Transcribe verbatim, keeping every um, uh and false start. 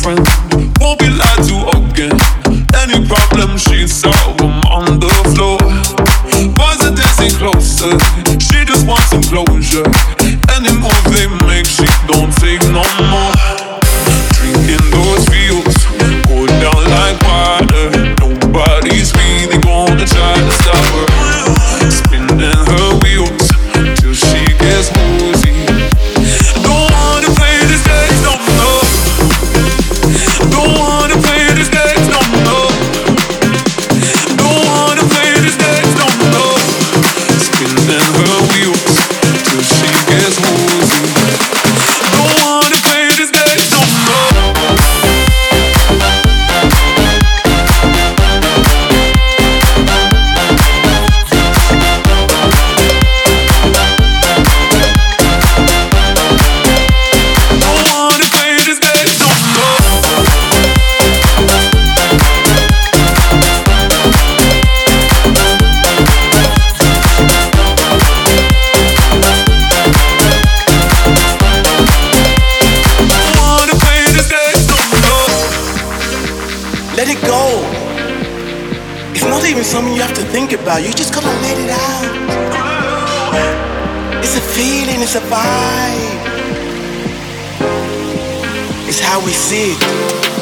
friend. Won't be lied to again. Any problem she solve them on the floor. Boys are dancing closer. She just wants some closure. Any move they make, she don't take no more. Drinking those fields, go down like water. Nobody's really gonna try to stop her. Spinning her wheels till she gets woozy. Don't wanna play this game, no, no. Don't wanna play this game, no, no. Don't wanna play this game, no, no. Spinning her wheels till she gets woozy. Don't wanna play this game, no, no. Let it go. It's not even something you have to think about. You just gotta let it out. It's a feeling, it's a vibe. It's how we see it.